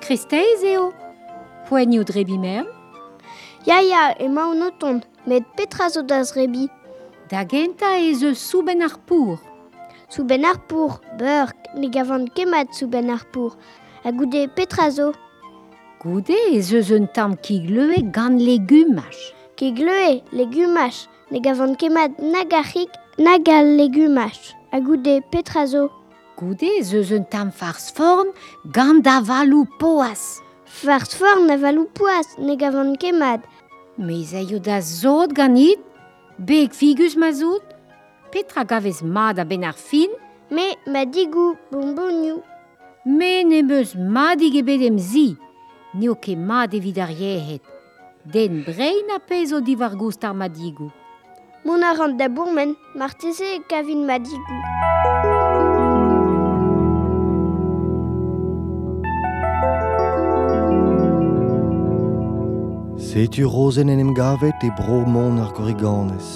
Kristeiz eo. Poenio drebi mern. Ya, ema un oton, met petra zo da zrebi. Da genta ez eus souben ar pour. Souben ar pour, burk, ne gavant kemat souben ar pour. A goude petra zo. Goude ez eus un tamm ki gleue gant legumaj. Ke gleue, legumaj, ne gavant kemat nag arrik, nag al legumaj. A goude petra zo. Goude ez eus un tamm farz forn gant da valou poas. Farz forn a valou poas, ne gavant kemat. Meiz eo da zot ganit, beg figus ma zot, petra gavez mad a ben ar fin, Me ma digou bonboniou. me ne meus madig ebet em zi, neo ket mad evit ar yehet. Den brein a pez o divar goust ar madigou. Mon a rand da bourmen, marteze kavin ma digou. Setu rozen en em gavet e bro mon ar goriganez.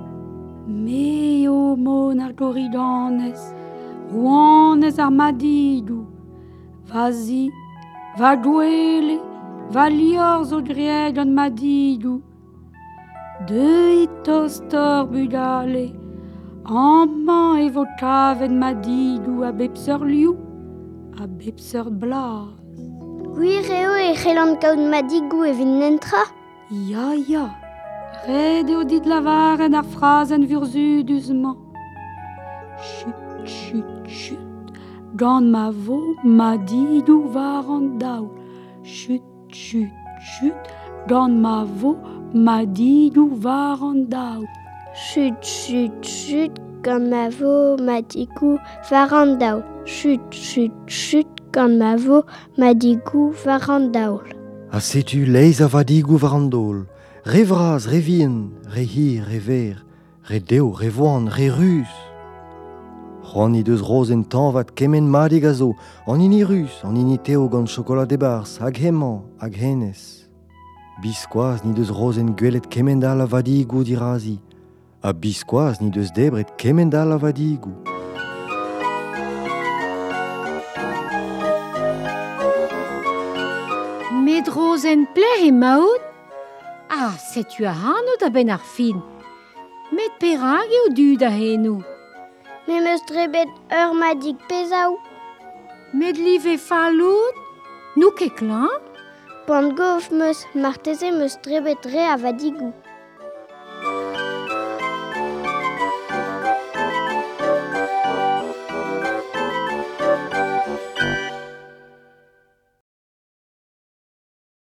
Meo mon ar goridanez, rouanez ar madigou. Vazi, va douele, va lior zo grieg an madigou. De tostor budale, amman e vo kavet madigou a bepseur liou, a bepseur blaz. Gwir eo e c'hellan kaout ma digou e vin nentra. Ya, red eo dit lavaren ar frazen vurzudusman. Chut, gant ma vo madigou var an daou. Chut, gant ma vo madigou var an daou. Chut, gant ma vo ma digou var an daoul. Chut, gant ma vo ma digou var an daoul. A setu leiz a vadigou varandol. Re vraz, re vien, re hir, re ver, re deo, re voan, re rus. C'hoant deus rozen tanvat kemen madig a zo, an ini rus, an ini teo gant chokolat e bars, hag hemañ, hag henez. Biskoaz ni deus rozen gwelet kemen dal a vadigou dirazi, a biskoaz ni deus debret kemen dal a vadigou. Met rozen pleh e maout? Ah, setu a hanot a ben ar fin. Met perag eo du da henou. Me meus drebet ur ma dig pezaou. Met liv e fallout? Nou ket klan? Pant gof meus marteze meus drebet re a vadigou.